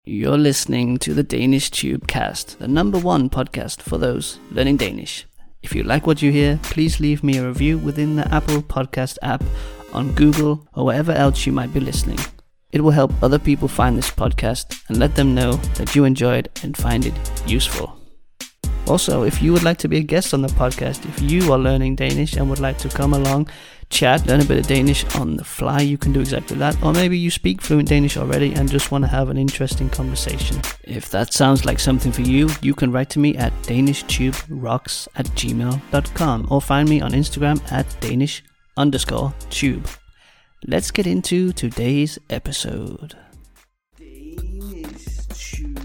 You're listening to the Danish Tubecast, the #1 podcast for those learning Danish. If you like what you hear, please leave me a review within the Apple Podcast app, on Google, or wherever else you might be listening. It will help other people find this podcast and let them know that you enjoy it and find it useful. Also, if you would like to be a guest on the podcast, if you are learning Danish and would like to come along, chat, learn a bit of Danish on the fly, you can do exactly that. Or maybe you speak fluent Danish already and just want to have an interesting conversation. If that sounds like something for you, you can write to me at danishtube.rocks@gmail.com or find me on Instagram at Danish_tube. Let's get into today's episode. Danish Tube.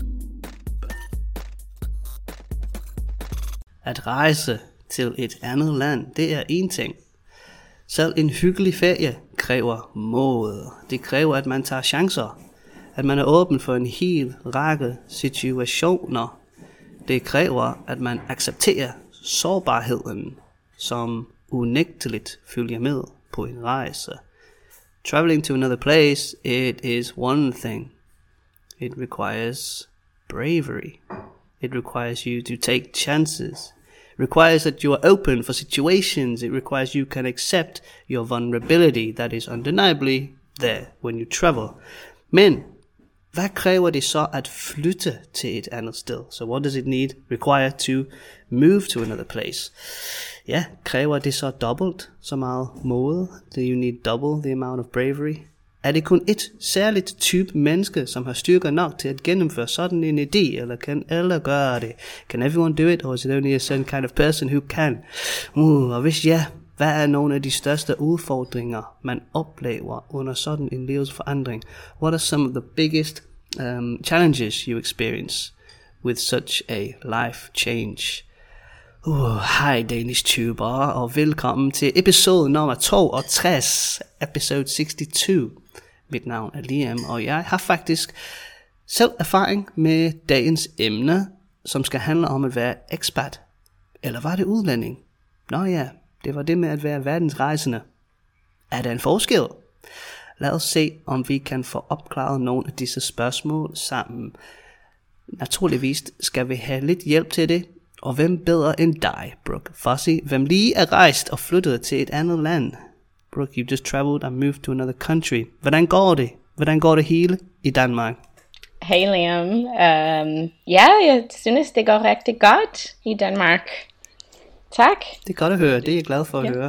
At rejse til et andet land, det er en ting. Selv en hyggelig ferie kræver mod. Det kræver, at man tager chancer. At man er åben for en hel række situationer. Det kræver, at man accepterer sårbarheden, som unægteligt følger med på en rejse. Traveling to another place, it is one thing. It requires bravery. It requires you to take chances. It requires that you are open for situations. It requires you can accept your vulnerability that is undeniably there when you travel. Men hvad kræver det så at flytte til et andet sted? So what does it require to move to another place? Ja, kræver det så dobbelt så meget mod? Do you need double the amount of bravery? Er det kun et særligt type menneske, som har styrker nok til at gennemføre sådan en idé, eller kan alle gøre det? Can everyone do it, or is it only a certain kind of person who can? Og hvis ja, hvad er nogle af de største udfordringer, man oplever under sådan en livsforandring? What are some of the biggest challenges you experience with such a life change? Hej Danish Tuber, og velkommen til episode nummer 62, episode 62. Mit navn er Liam, og jeg har faktisk selv erfaring med dagens emne, som skal handle om at være expat. Eller var det udlænding? Nå ja, det var det med at være verdensrejsende. Er der en forskel? Lad os se, om vi kan få opklaret nogle af disse spørgsmål sammen. Naturligvis skal vi have lidt hjælp til det. Og hvem bedre end dig, Brooke Fossey, hvem lige er rejst og flyttet til et andet land? Brooke, you just traveled and moved to another country. Hvordan går det? Hvordan går det hele i Danmark? Hey Liam. Jeg synes det går rigtig godt i Danmark. Tak. Det er godt at høre, det er jeg glad for at høre.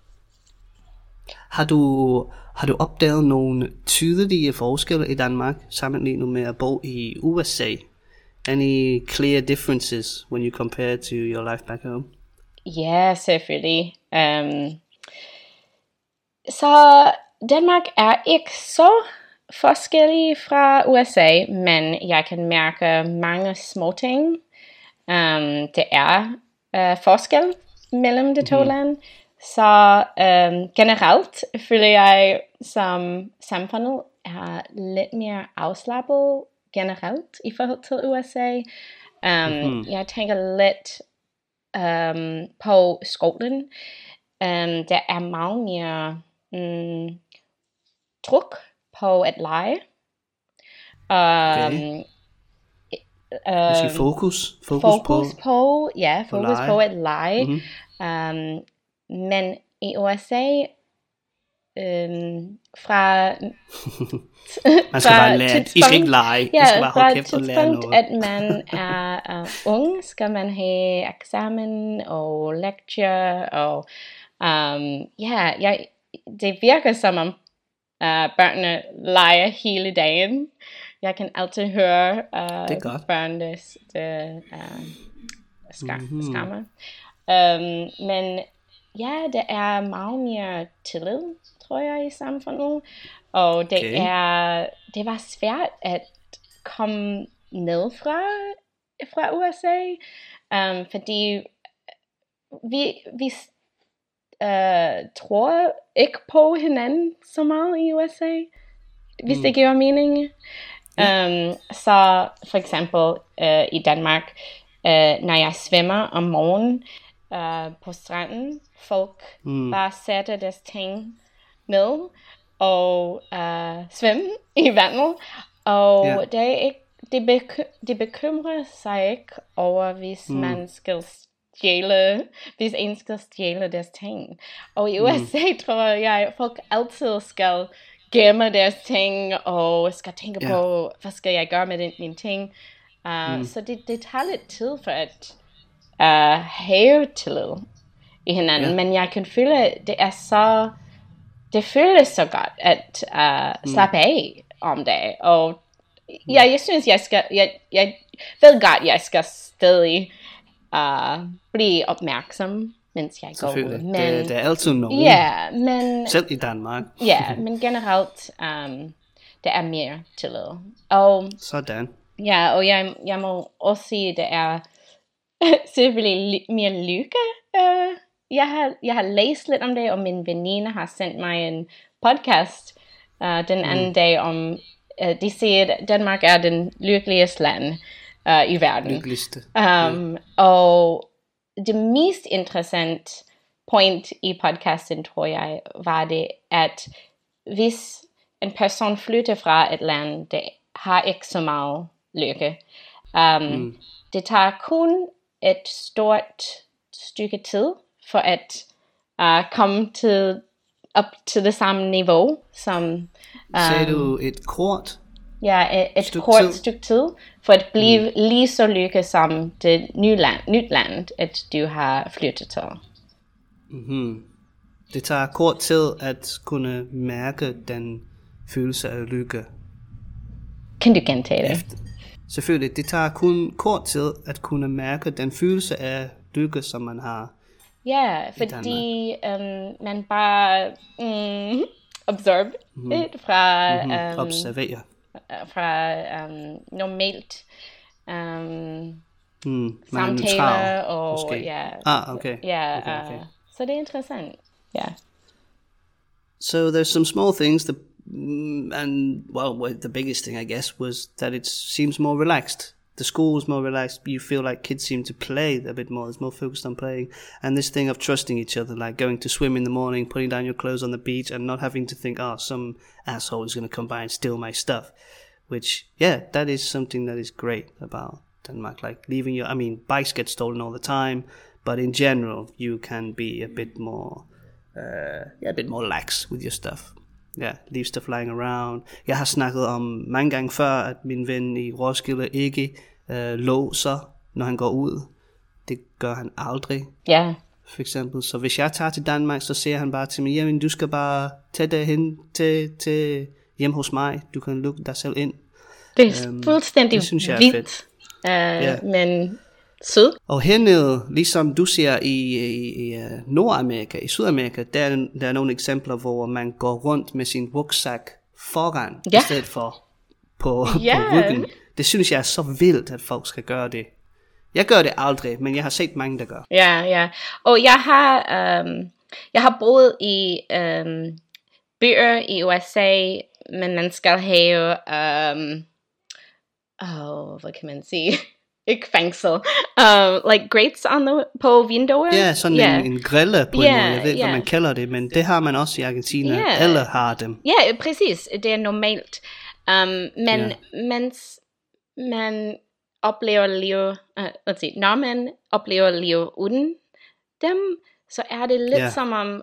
Har du opdaget nogle tydelige forskelle i Danmark, sammenlignet med at bo i USA? Any clear differences when you compare to your life back home? Ja, selvfølgelig. Så Danmark er ikke så forskellig fra USA, men jeg kan mærke mange små ting. Det er forskel mellem de to lande. Så generelt føler jeg, som samfundet er lidt mere afslappet generelt i forhold til USA. Jeg tænker lidt på skolen. Der er meget mere tryk på at lege. Måske fokus på at lege. Men i USA fra man skal bare lære, I skal ikke lege, ja, I skal bare holde kæft og lære noget. At man er ung, skal man have eksamen og lecture, og det virker som om børnene leger hele dagen. Jeg kan altid høre børnenes skammer. Men ja, det er meget mere tillid, tror jeg, i samfundet. Og det var svært at komme ned fra USA, fordi vi tror ikke på hinanden så meget i USA, hvis det giver mening. Så for eksempel i Danmark, når jeg svømmer om morgenen på stranden, folk bare sætter deres ting ned og svømme i vandet, Og Ja. det er ikke, det bekymrer sig ikke over, hvis man skal stjæle, hvis en skal stjæle deres ting. Og i USA tror jeg, folk altid skal gemme deres ting, og skal tænke på, hvad skal jeg gøre med mine ting. Så det tager lidt tid for at have tillid i hinanden. Men jeg kan føle, det føles så godt at slappe af om det. Og jeg synes, jeg ved godt, jeg skal stadig blive opmærksom, mens jeg går ud. Men det er altid nogen. Ja, men selv i Danmark. Ja, men generelt, det er mere tillid. Og sådan. Ja, og jeg må også sige, det er selvfølgelig mere lykke. Jeg har læst lidt om det, og min veninde har sendt mig en podcast den anden dag om, de siger, at Danmark er den lykkeligste land i verden. Lykkeligste. Og det mest interessante point i podcasten, tror jeg, var det, at hvis en person flytter fra et land, det har ikke så meget lykke. Det tager kun et stort stykke tid for at komme op til det samme niveau som... Sagde du et kort? Ja, et kort stykke tid, for at blive lige så lykke som det nyt land, at du har flyttet til. Det tager kort tid at kunne mærke den følelse af lykke. Kan du gentage det? Selvfølgelig, det tager kun kort tid at kunne mærke den følelse af lykke, som man har. Ja, fordi man bare observe det fra observere fra normalt samtaler og måske. Ja. Okay. Ja, okay. Så det er interessant. Ja. So there's some small things that and the biggest thing I guess was that it seems more relaxed. The school's more relaxed. You feel like kids seem to play a bit more. It's more focused on playing. And this thing of trusting each other, like going to swim in the morning, putting down your clothes on the beach and not having to think, some asshole is going to come by and steal my stuff. Which, that is something that is great about Denmark. Like bikes get stolen all the time, but in general, you can be a bit more lax with your stuff. Leave stuff lying around. Jeg har snakket om mange gange før, at min ven i Roskilde ikke låser, når han går ud. Det gør han aldrig. Ja. For eksempel. Så hvis jeg tager til Danmark, så siger han bare til mig, jamen du skal bare tage derhen til hjem hos mig. Du kan lukke dig selv ind. Det er fuldstændig vildt. Men sød. Og hernede, ligesom du ser i Nordamerika, i Sydamerika, der er nogle eksempler, hvor man går rundt med sin rygsæk foran, i stedet for på ryggen. Det synes jeg er så vildt, at folk skal gøre det. Jeg gør det aldrig, men jeg har set mange, der gør. Ja. Og jeg har boet i byer i USA, men man skal have, hvad kan man sige? Ikke fængsel. Like grates på vinduer. Ja, sådan en grille på en måde. Jeg ved ikke, hvad man kalder det, men det har man også i Argentina. Alle har dem. Ja, præcis. Det er normalt. Men mens man oplever liv, når man oplever liv uden dem, så er det lidt som om,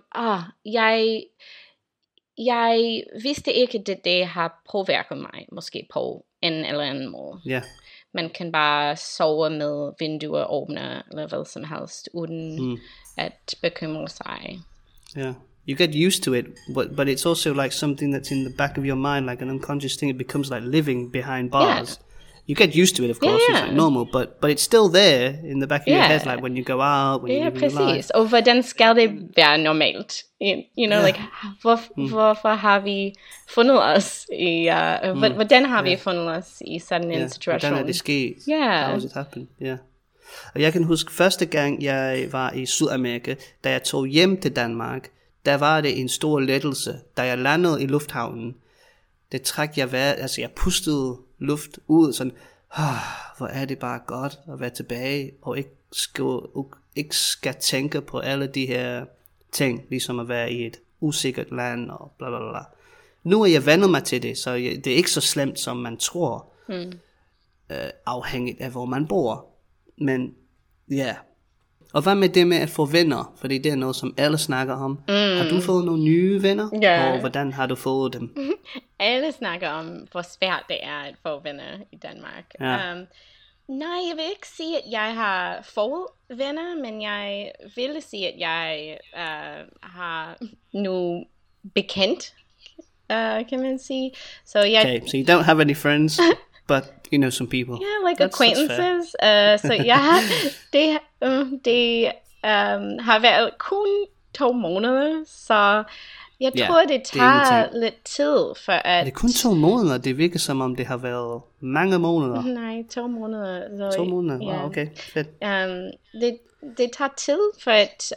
jeg vidste ikke, at det har påvirket mig, måske på en eller anden måde. Ja. Man kan bare sove med vinduer åbne, eller hvad som helst, uden at bekymre sig. Yeah. You get used to it, but it's also like something that's in the back of your mind, like an unconscious thing. It becomes like living behind bars. You get used to it, of course, it's like normal, but it's still there in the back of your head, like when you go out, when you live your life. Og hvordan skal det være normalt? You know, like, hvorfor har vi fundet os i, hvordan har vi fundet os i sådan en situation? Hvordan er det sket? How has it happened? Yeah. Og jeg kan huske første gang, jeg var i Sydamerika, da jeg tog hjem til Danmark, der var det en stor lettelse, da jeg landede i lufthavnen. Det træk jeg vejret, altså jeg pustede luft ud, sådan, hvor er det bare godt at være tilbage, og ikke skal tænke på alle de her ting, ligesom at være i et usikkert land, og bla bla bla. nu er jeg vendt mig til det, så det er ikke så slemt, som man tror, afhængigt af, hvor man bor. Men ja, og hvad med det med at få venner? Fordi det er noget, som alle snakker om. Har du fået nogle nye venner? Ja. Og hvordan har du fået dem? Alle snakker om, hvor svært det er at få venner i Danmark. Ja. Nej, jeg vil ikke sige, at jeg har fået venner, men jeg vil sige, at jeg har nu bekendt, kan man sige. So Okay, so you don't have any friends, but you know some people. Yeah, like acquaintances. So yeah, det har været kun 2 måneder, så jeg tror, det tager lidt tid for at... Er det kun 2 måneder? Det virker som om, det har været mange måneder. Nej, 2 måneder. Så, 2 måneder? Wow, okay, fedt. Det tager tid for at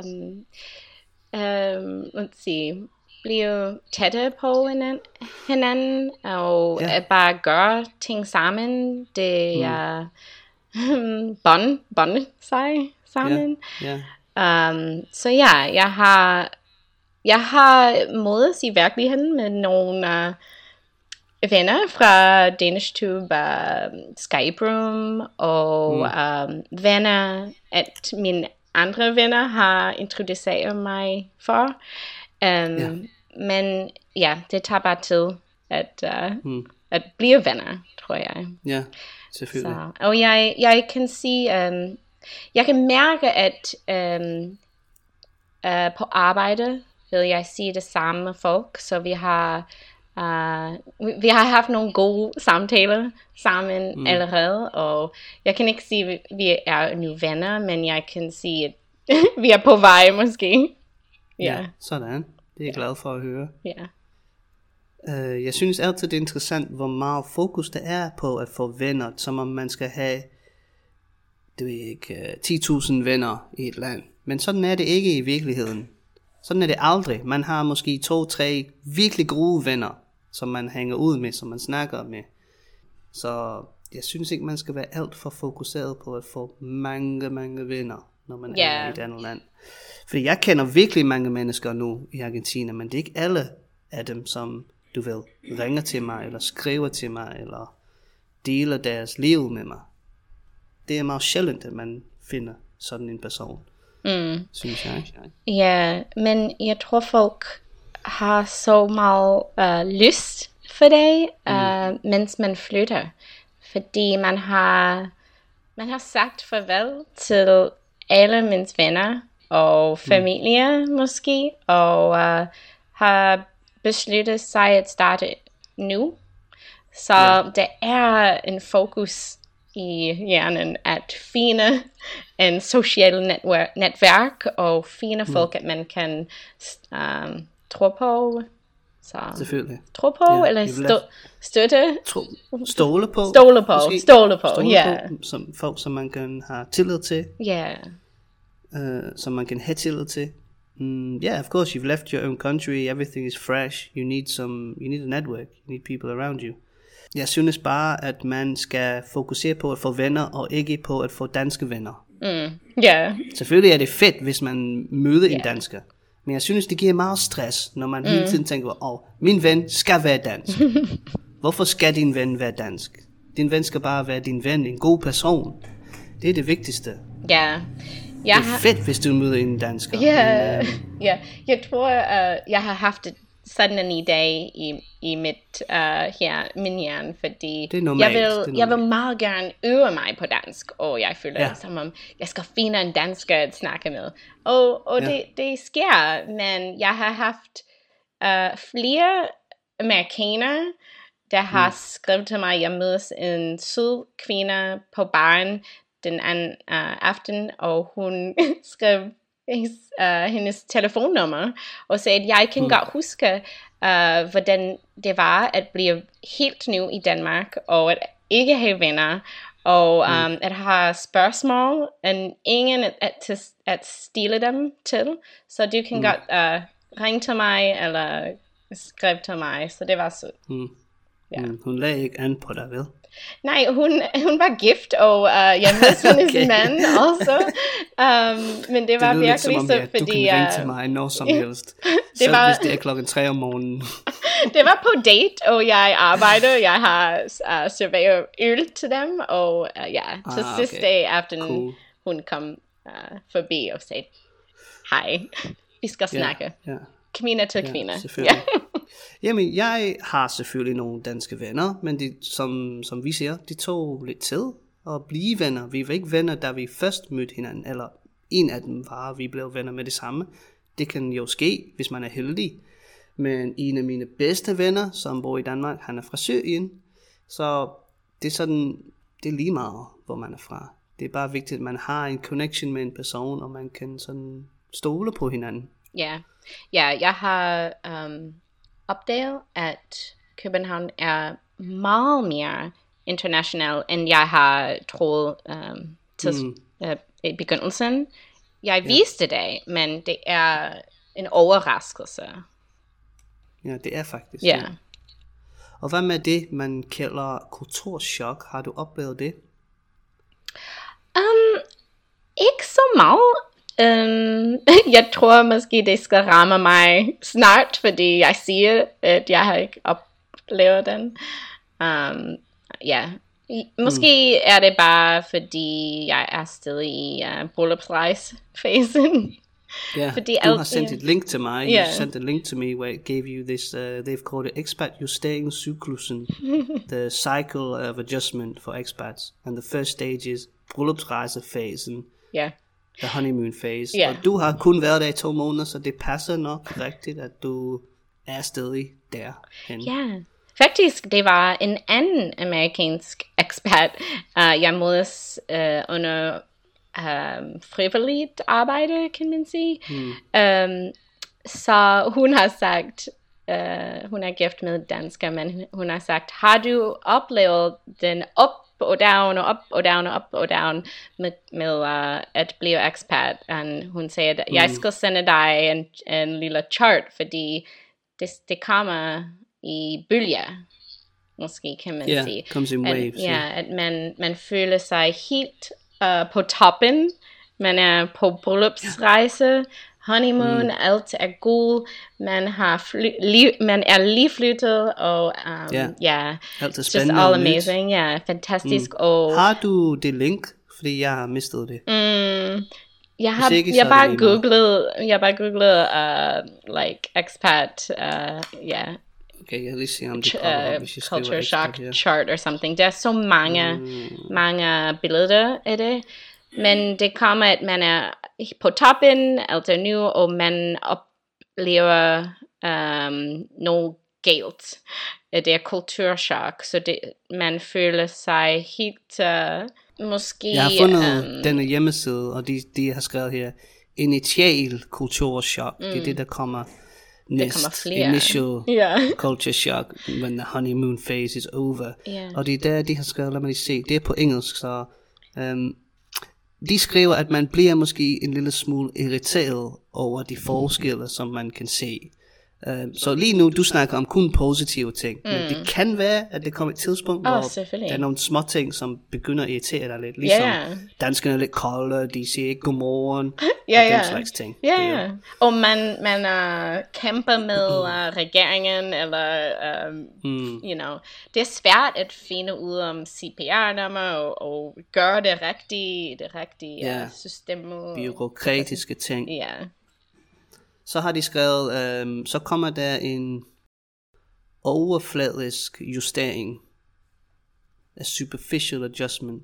let's see, blive tættere på hinanden, og at bare gøre ting sammen. Det er bonde sig sammen. Så ja, jeg har mødes i virkeligheden med nogle venner fra DanishTube, Skype Room, og venner, at mine andre venner har introduceret mig for. Men ja, det tager bare tid at blive venner, tror jeg. Ja, selvfølgelig. Så, og jeg kan sige, jeg kan mærke, at på arbejde vil jeg sige det samme med folk, så vi har haft nogle gode samtaler sammen allerede, og jeg kan ikke sige, at vi er nu venner, men jeg kan sige, at vi er på vej måske. Ja, sådan. Det er jeg glad for at høre. Ja. Jeg synes altid, det er interessant, hvor meget fokus der er på at få venner, som om man skal have, det er ikke 10.000 venner i et land. Men sådan er det ikke i virkeligheden. Sådan er det aldrig. Man har måske 2-3 virkelig gode venner, som man hænger ud med, som man snakker med. Så jeg synes ikke, man skal være alt for fokuseret på at få mange venner, når man er i et andet land. Fordi jeg kender virkelig mange mennesker nu i Argentina, men det er ikke alle af dem, som du ved, ringer til mig, eller skriver til mig, eller deler deres liv med mig. Det er meget sjældent, at man finder sådan en person, synes jeg. Ja, men jeg tror folk har så meget lyst for det, mens man flytter. Fordi man har sagt farvel til alle mine venner og familie måske, og har besluttet sig at starte nu. Så der er en fokus i hjernen at finde en social netværk og finde folk, at man kan tro på. Så selvfølgelig. Tro på, eller støtte. Stole på. Stole på, ja. Som folk, som man kan have tillid til. Ja. Som man kan have tillid til. Yeah, of course, you've left your own country, everything is fresh, you need a network, you need people around you. Jeg synes bare, at man skal fokusere på at få venner, og ikke på at få danske venner. Selvfølgelig er det fedt, hvis man møder en dansker. Men jeg synes, det giver meget stress, når man hele tiden tænker, min ven skal være dansk. Hvorfor skal din ven være dansk? Din ven skal bare være din ven, en god person. Det er det vigtigste. Ja. Det er fedt, hvis du møder en dansker. Jeg tror, jeg har haft sådan en idé i min hjerne, fordi det er normalt. Jeg vil meget gerne øve mig på dansk, og jeg føler det som om, jeg skal finde en dansker at snakke med. Og det sker, men jeg har haft flere amerikanere, der har skrevet til mig, jeg mødes en sød kvinde på baren den anden aften, og hun skrev hendes telefonnummer og sagde, at jeg kan godt huske, hvordan det var at blive helt ny i Danmark, og at ikke have venner, og at have spørgsmål, og ingen at stille dem til. Så du kan godt ringe til mig, eller skrive til mig, så det var sødt. Hun lagde ikke an på dig, vel? Nej, hun var gift, og jeg mødte hendes mand også. Men det var virkelig så, fordi... Du kan ringe til mig når som helst. Selv hvis det er 3:00 om morgenen. Det var på date, og jeg arbejder. Jeg har serveret øl til dem, og til sidste dag aften, hun kom forbi og sagde, hej, vi skal snakke. Kvinde til kvinde. Selvfølgelig. Jamen, jeg har selvfølgelig nogle danske venner, men de, som vi siger, de tog lidt tid at blive venner. Vi var ikke venner, da vi først mødte hinanden, eller en af dem var, vi blev venner med det samme. Det kan jo ske, hvis man er heldig. Men en af mine bedste venner, som bor i Danmark, han er fra Syrien. Så det er sådan, det er lige meget, hvor man er fra. Det er bare vigtigt, at man har en connection med en person, og man kan sådan stole på hinanden. Ja, jeg har opdaget, at København er meget mere international, end jeg har troet til i begyndelsen. Jeg vidste det, men det er en overraskelse. Ja, det er faktisk det. Og hvad med det, man kalder kulturschok? Har du oplevet det? Ikke så meget. Jeg tror måske det skal ramme mig snart, fordi jeg siger, at jeg har ikke oplevet den. Måske er det bare fordi jeg er stadig i bryllupsrejsefasen. Yeah, du har sendt et link til mig. You sent a link to me where it gave you this, they've called it expat justering cyklusen, the cycle of adjustment for expats. And the first stage is bryllupsrejsefasen. The honeymoon phase. Og du har kun været der i 2 måneder, så det passer nok rigtigt, at du er stadig derhen. Faktisk, det var en anden amerikansk expat, jeg mødes under frivilligt arbejde, kan man sige. Så hun har sagt, hun er gift med dansker, men hun har sagt, har du oplevet den op og down og op og down og op og down med at blive expat? Og hun sagde, at jeg skal sende dig en lille chart, fordi det kommer i bølger, måske kan man sige. Comes in waves. At man føler sig helt på toppen. Man er på bryllupsrejse, honeymoon, alt er god. Man er lige flyttet, og alt er spændende, just all amazing. Fantastisk. Og har du det link? Fordi jeg har mistet det. Jeg bare googlede like expat, Okay, jeg lige se om det kommer, hvis jeg culture shock chart or something. Der er så mange billeder af det. Men det kommer, at man er på toppen, alt er nu, og man oplever noget galt. Det er kulturschok, så man føler sig helt, måske... Jeg har fundet denne hjemmeside, og de har skrevet her, initial kulturschok. Det er det, der kommer næst. Initial culture shock, when the honeymoon phase is over. Og det er der, de har skrevet, lad mig lige se, det er på engelsk, så... de skriver, at man bliver måske en lille smule irriteret over de forskelle, som man kan se. Så lige nu, du snakker om kun positive ting, men det kan være, at det kommer et tidspunkt, hvor der er nogle små ting, som begynder at irritere dig lidt. Ligesom danskerne er lidt kolde, de siger ikke godmorgen, og den slags ting. Og man kæmper med regeringen, eller, you know, det er svært at finde ud om CPR-nummer, og gøre det rigtige system. Bureaukratiske ting. Så har de skrevet, så kommer der en overfladisk justering, a superficial adjustment.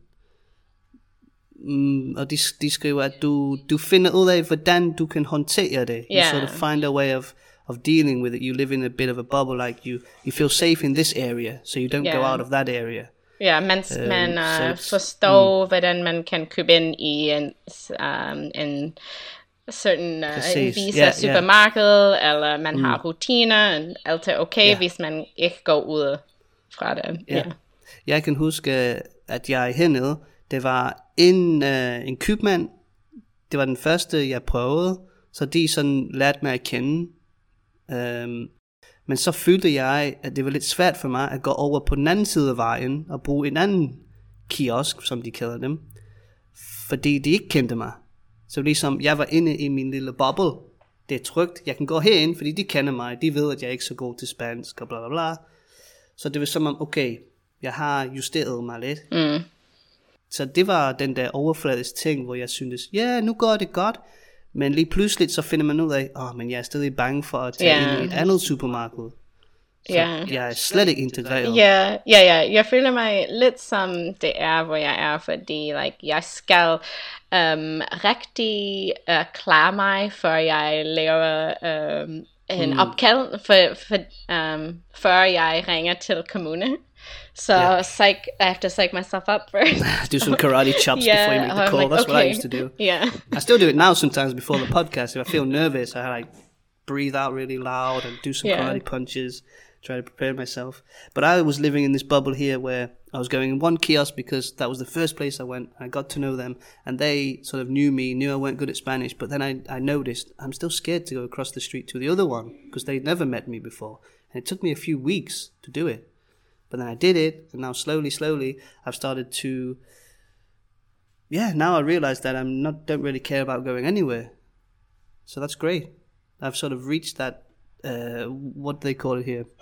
Og de skriver, at du finder ud af, hvordan du kan håndtere det. You sort of find a way of dealing with it. You live in a bit of a bubble, like you feel safe in this area, so you don't go out of that area. Man forstår, hvordan man kan købe ind i en certain en visa supermarked, eller man har rutiner, alt er okay, hvis man ikke går ud fra det. Jeg kan huske, at jeg hernede, det var en købmand, det var den første, jeg prøvede, så de sådan lærte mig at kende. Men så følte jeg, at det var lidt svært for mig at gå over på den anden side af vejen, og bruge en anden kiosk, som de kalder dem, fordi de ikke kendte mig. Så ligesom jeg var inde i min lille bubble, det er trygt, jeg kan gå herind, fordi de kender mig, de ved, at jeg er ikke så god til spansk, og bla bla bla. Så det var som om, okay, jeg har justeret mig lidt. Så det var den der overfladisk ting, hvor jeg syntes, ja, nu går det godt, men lige pludselig så finder man ud af, men jeg er stadig bange for at tage ind i et andet supermarked. Så jeg er slet ikke integreret. Jeg føler mig lidt som det er, hvor jeg er, fordi jeg skal rigtig klare mig, før jeg laver en opkald, før jeg ringer til kommune. So I have to psych myself up first. Do some karate chops before you make the call. That's what I used to do. Yeah. I still do it now sometimes before the podcast. If I feel nervous, I breathe out really loud and do some karate punches, try to prepare myself. But I was living in this bubble here where I was going in one kiosk because that was the first place I went. I got to know them and they sort of knew me, knew I weren't good at Spanish. But then I noticed I'm still scared to go across the street to the other one because they'd never met me before. And it took me a few weeks to do it. But then I did it, and now slowly, I've started to, now I realize that don't really care about going anywhere. So that's great. I've sort of reached that, what do they call it here?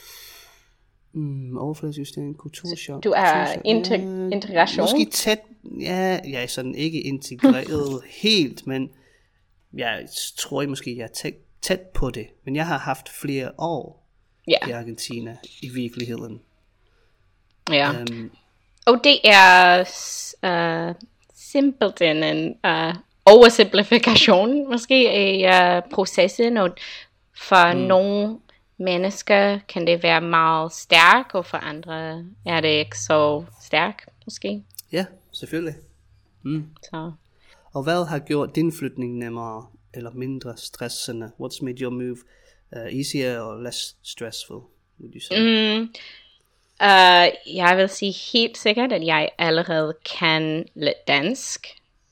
Overfladsjustering, kulturchok. Du er integration. Måske tæt, jeg er sådan ikke integreret helt, men jeg tror måske, jeg er tæt på det. Men jeg har haft flere år i Argentina i virkeligheden. Ja. Og det er simpelthen en oversimplifikation måske i processen, og for nogle mennesker kan det være meget stærk, og for andre er det ikke så stærk måske. Ja, selvfølgelig. Så. Og hvad har gjort din flytning nemmere eller mindre stressende? What's made your move easier or less stressful, would you say? Jeg vil sige helt sikkert, at jeg allerede kan lidt dansk.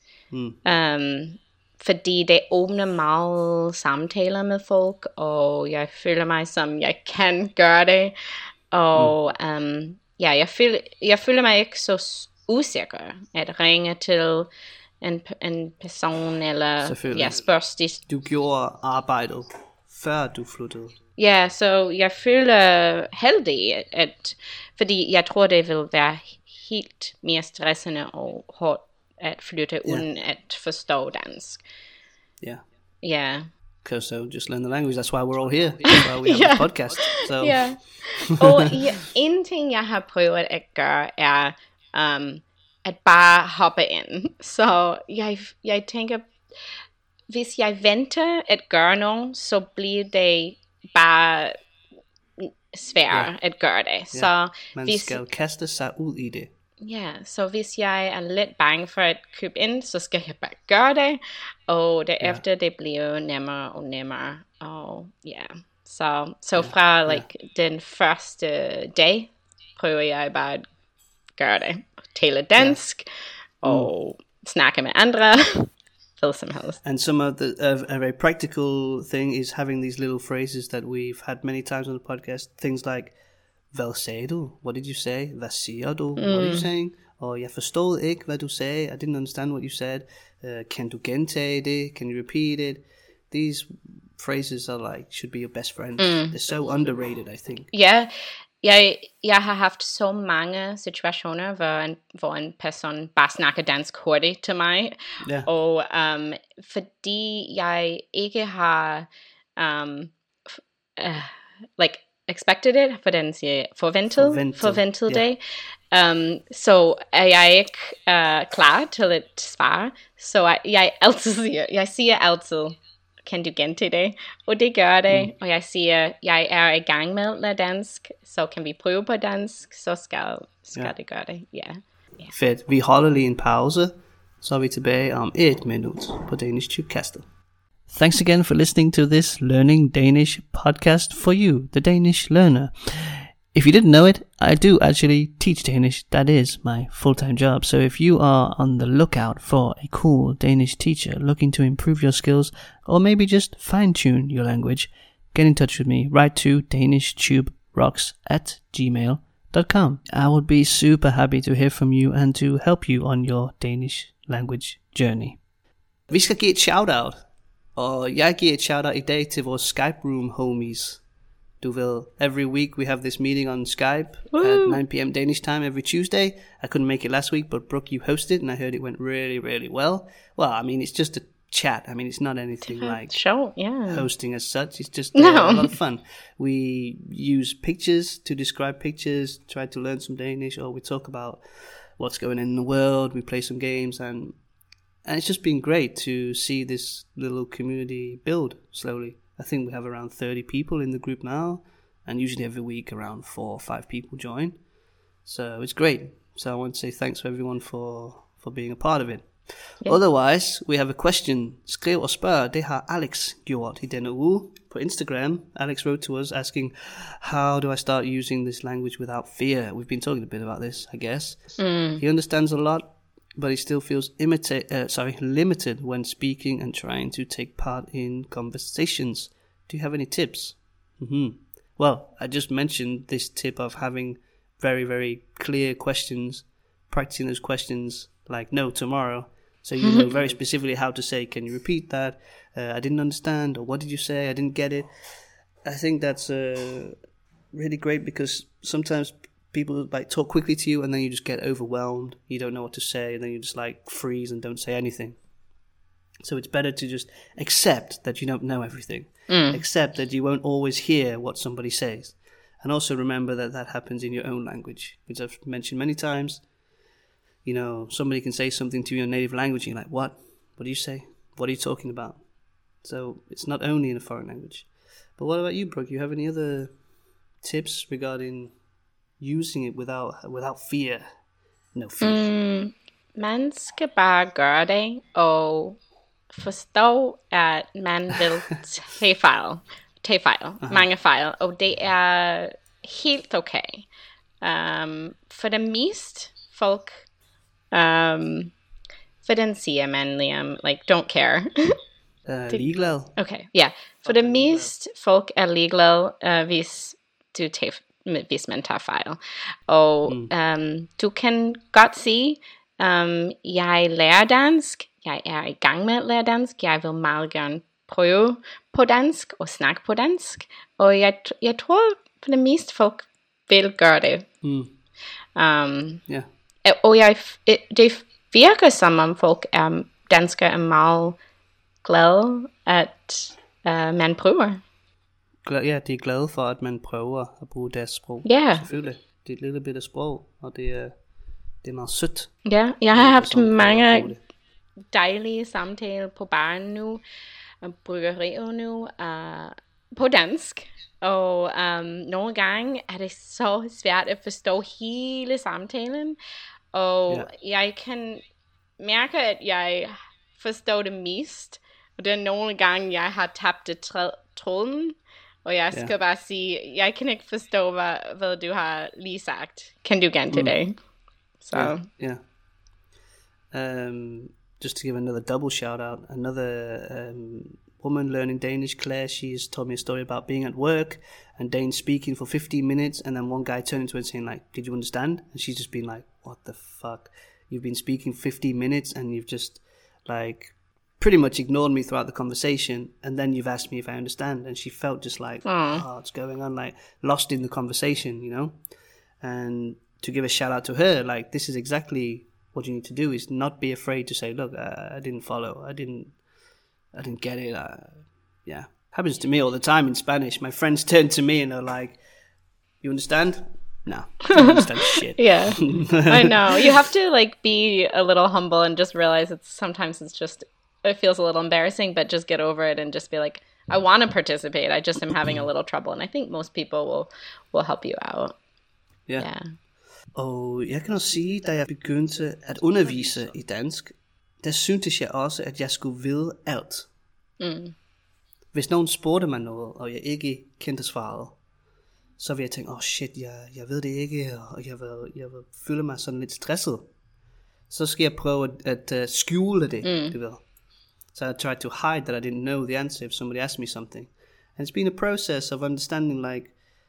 Fordi det åbner meget samtaler med folk, og jeg føler mig som, jeg kan gøre det. Og jeg føler mig ikke så usikker at ringe til en person, eller spørge de. Du gjorde arbejdet, før du flyttede. Ja, så jeg føler heldig, fordi jeg tror, det vil være helt mere stressende og hårdt at flytte, uden at forstå dansk. Yeah. Because so just learn the language. That's why we're all here. That's why we have a podcast. So. Og en ting, jeg har prøvet at gøre, er at bare hoppe ind. Så jeg tænker, hvis jeg venter at gøre noget, så bliver det bare svært at gøre det. Så man skal kaste sig ud i det. Ja, så hvis jeg er lidt bange for at købe ind, så skal jeg bare gøre det, og derefter det bliver nemmere og nemmere. Og så fra den første dag prøver jeg bare at gøre det. Tale dansk og snakke med andre. And some of the a very practical thing is having these little phrases that we've had many times on the podcast. Things like, hvad sagde du? What did you say? Hvad siger du? What are you saying? Og jeg forstod ikke, hvad du sagde. I didn't understand what you said. Kan du gentage det? Can you repeat it? These phrases are should be your best friends. They're so underrated, I think. Ja, jeg har haft så mange situationer, hvor en person bare snakker dansk hurtigt til mig. Og fordi jeg ikke har expected it, for den siger forventet det. Så er jeg ikke klar til at svare. Så jeg siger altid, kan du gentage det? Og det gør det. Og jeg siger, jeg er i gang med at lære dansk, så kan vi prøve på dansk, så skal det gøre det. Fedt. Vi holder lige en pause, så er vi tilbage om 1 minut på Danish Tubecastet. Thanks again for listening to this Learning Danish podcast for you, the Danish learner. If you didn't know it, I do actually teach Danish. That is my full-time job. So if you are on the lookout for a cool Danish teacher looking to improve your skills, or maybe just fine-tune your language, get in touch with me. Write to danishtube.rocks@gmail.com. I would be super happy to hear from you and to help you on your Danish language journey. Vi skal give et shout-out. Og jeg giver et shout-out i dag til vores Skype room homies. Du ved, every week we have this meeting on Skype at 9 p.m. Danish time every Tuesday. I couldn't make it last week, but Brooke, you hosted, and I heard it went really, really well. Well, I mean, it's just a chat. I mean, it's not anything like hosting as such. It's just a lot of fun. We use pictures to describe pictures, try to learn some Danish, or we talk about what's going on in the world. We play some games, and it's just been great to see this little community build slowly. I think we have around 30 people in the group now, and usually every week around 4 or 5 people join. So it's great. So I want to say thanks to everyone for being a part of it. Yeah. Otherwise, we have a question. Skriv og spørg, det har Alex gjort i denne uge på Instagram. Alex wrote to us asking, how do I start using this language without fear? We've been talking a bit about this, I guess. He understands a lot, but he still feels limited when speaking and trying to take part in conversations. Do you have any tips? Well, I just mentioned this tip of having very, very clear questions, practicing those questions like no tomorrow. So you know very specifically how to say, can you repeat that? I didn't understand, or what did you say? I didn't get it. I think that's really great because sometimes people like talk quickly to you and then you just get overwhelmed. You don't know what to say, and then you just like freeze and don't say anything. So it's better to just accept that you don't know everything. Accept that you won't always hear what somebody says. And also remember that happens in your own language, which I've mentioned many times. You know, somebody can say something to you in native language and you're like, what? What do you say? What are you talking about? So it's not only in a foreign language. But what about you, Brooke? You have any other tips regarding using it without fear? No fear. Man skal bare gøre det, og forstå, at man vil tage fejl, mange fejl, og det er helt okay. For det meste folk, hvordan siger man, Liam, like, don't care? Ligeglad. Okay, ja. For det meste folk er ligeglad, hvis man tager fejl. Og du kan godt sige, jeg lærer dansk, jeg er i gang med at lære dansk, jeg vil meget gerne prøve på dansk og snakke på dansk, og jeg tror for det meste folk vil gøre det. Og det virker som om folk danskere er meget glade, at man prøver. Ja, de er glade for, at man prøver at bruge deres sprog. Ja. Selvfølgelig. Det er et lille bitte sprog, og det er meget sødt. Ja, jeg har haft mange dejlige samtaler på baren nu, og bryggerier nu, på dansk. Og nogle gange er det så svært at forstå hele samtalen. Og jeg kan mærke, at jeg forstår det mest. Og det er nogle gange, jeg har tabt tråden. Og jeg skal bare sige, jeg kan ikke forstå, hvad du har lige sagt. Kan du gentage det? So just to give another double shout out, another woman learning Danish, Claire, she's told me a story about being at work and Dane speaking for 15 minutes, and then one guy turning to her and saying like, did you understand? And she's just been like, what the fuck? You've been speaking 15 minutes and you've just like pretty much ignored me throughout the conversation, and then you've asked me if I understand. And she felt just like, what's going on, like lost in the conversation, you know. And to give a shout out to her, like, this is exactly what you need to do, is not be afraid to say, look, I didn't follow, I didn't get it. Happens to me all the time in Spanish. My friends turn to me and they're like, you understand? No, I don't understand shit. Yeah, I know. You have to like be a little humble and just realize sometimes it feels a little embarrassing, but just get over it and just be like, I want to participate, I just am having a little trouble. And I think most people will help you out. Yeah. Og jeg kan også sige, da jeg begyndte at undervise i dansk, der syntes jeg også, at jeg skulle vide alt. Hvis nogen spurgte mig noget, og jeg ikke kendte svaret, så ville jeg tænke, shit, jeg ved det ikke, og jeg vil føle mig sådan lidt stresset. Så skal jeg prøve at skjule det, du ved. So I tried to hide that I didn't know the answer if somebody asked me something. And it's been a process of understanding, like,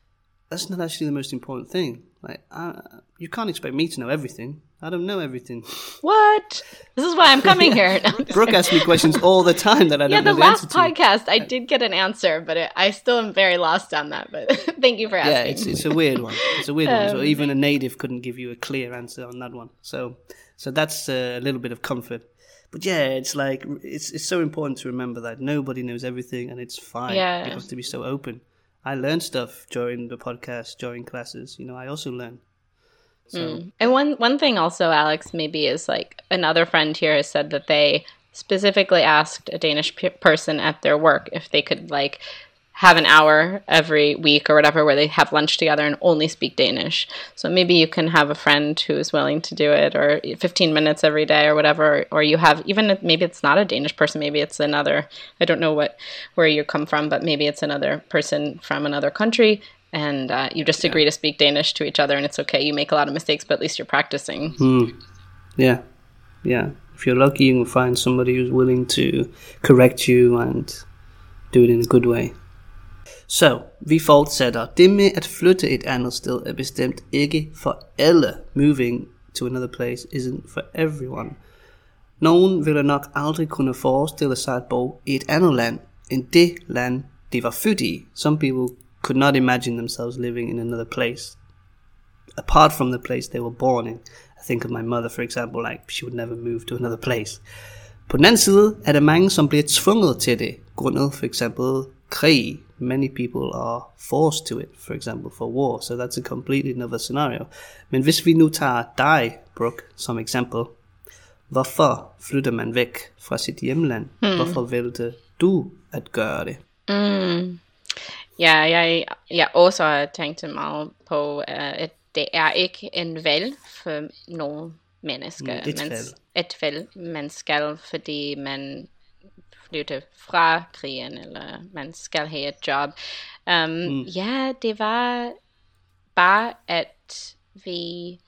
that's not actually the most important thing. Like, you can't expect me to know everything. I don't know everything. What? This is why I'm coming here. No, Brooke asks me questions all the time that I don't know the answer to. Yeah, the last podcast, I did get an answer, but I still am very lost on that. But thank you for asking. Yeah, it's a weird one. It's a weird one. So even a native couldn't give you a clear answer on that one. So that's a little bit of comfort. But yeah, it's like, it's so important to remember that nobody knows everything, and it's fine. Yeah. You have to be so open. I learned stuff during the podcast, during classes. I also learn. So. And one thing also, Alex, maybe is like another friend here has said that they specifically asked a Danish person at their work if they could like have an hour every week or whatever where they have lunch together and only speak Danish. So maybe you can have a friend who is willing to do it, or 15 minutes every day or whatever, or you have, even if maybe it's not a Danish person, maybe it's another, I don't know where you come from, but maybe it's another person from another country, and you just agree to speak Danish to each other, and it's okay. You make a lot of mistakes, but at least you're practicing. Yeah. If you're lucky, you can find somebody who's willing to correct you and do it in a good way. Så vi fortsætter. Det med at flytte et andet sted er bestemt ikke for alle. Moving to another place isn't for everyone. Nogen ville nok aldrig kunne forestille sig at bo i et andet land end det land, de var født i. Some people could not imagine themselves living in another place apart from the place they were born in. I think of my mother, for example, like she would never move to another place. På den anden side er der mange, som bliver tvunget til det, grundet for eksempel krig. Many people are forced to it, for example, for war, so that's a completely another scenario. Men hvis vi nu tager dig, Brooke, som eksempel, hvorfor flytter man væk fra sit hjemland? Hvorfor valgte du at gøre det? Ja, jeg også har tænkt meget på, at det er ikke en valg for nogle mennesker. Et valg, man skal, fordi man flytte fra krigen, eller man skal have et job. Ja, det var bare, at vi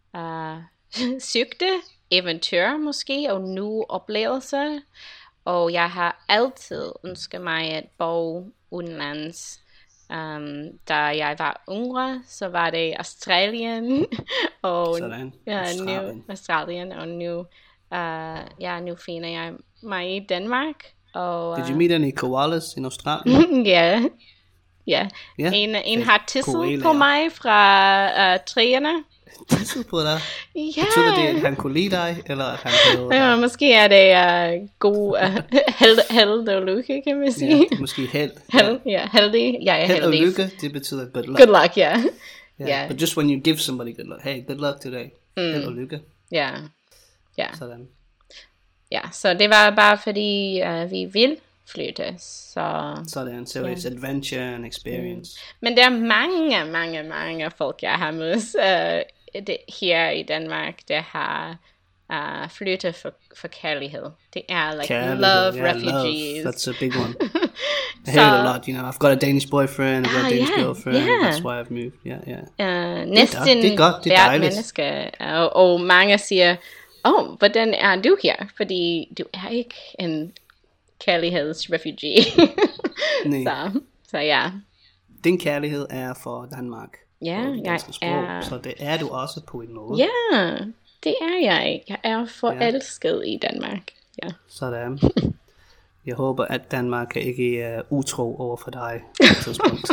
søgte eventyr måske, og nye oplevelser. Og jeg har altid ønsket mig at bo udenlands. Da jeg var yngre, så var det Australien, og Australien, og nu finder jeg mig i Danmark. Og, Did you meet any koalas in Australien? Ja. En har tisset på mig fra træerne. Tisset på dig? Ja. Betyder det, at han kunne lide dig, eller at han havde ja, måske er det god held og lykke, kan man sige. Ja, måske held. Heldig. Jeg er held heldig. Og lykke, det betyder good luck. Good luck, yeah. But just when you give somebody good luck, hey, good luck today. Held og lykke. Ja. Sådan. Ja, så det var bare fordi vi vil flytte. Sådan, so it's adventure and experience. Men der er mange folk, jeg har mødt her i Danmark, der har flyttet for kærlighed. Det er like love refugees. Love. That's a big one. I hear it a lot, I've got a Danish boyfriend, I've got a Danish girlfriend, that's why I've moved. Næsten hvert menneske. Og mange siger, hvordan er du her? Fordi du er ikke en kærlighedsrefugee. Så ja. Din kærlighed er for Danmark. Ja, jeg er. Så det er du også på en måde. Ja, det er jeg. Jeg er forelsket i Danmark. Ja. Sådan. Jeg håber, at Danmark ikke er utro over for dig på et tidspunkt.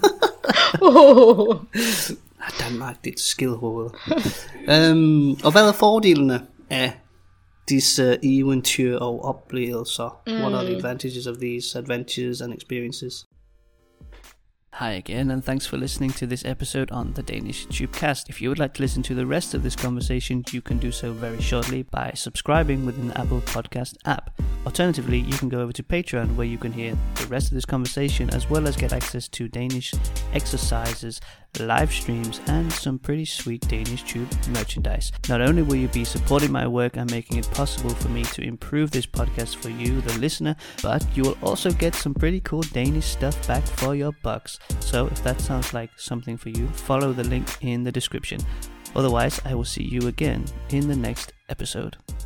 Danmark, det er et skidhoved. Og hvad er fordelene af disse eventyr og oplevelser? What are the advantages of these adventures and experiences? Hi again, and thanks for listening to this episode on the Danish Tubecast. If you would like to listen to the rest of this conversation, you can do so very shortly by subscribing within the Apple Podcast app. Alternatively, you can go over to Patreon, where you can hear the rest of this conversation, as well as get access to Danish exercises, live streams, and some pretty sweet Danish Tube merchandise. Not only will you be supporting my work and making it possible for me to improve this podcast for you, the listener, but you will also get some pretty cool Danish stuff back for your bucks. So if that sounds like something for you, follow the link in the description. Otherwise, I will see you again in the next episode.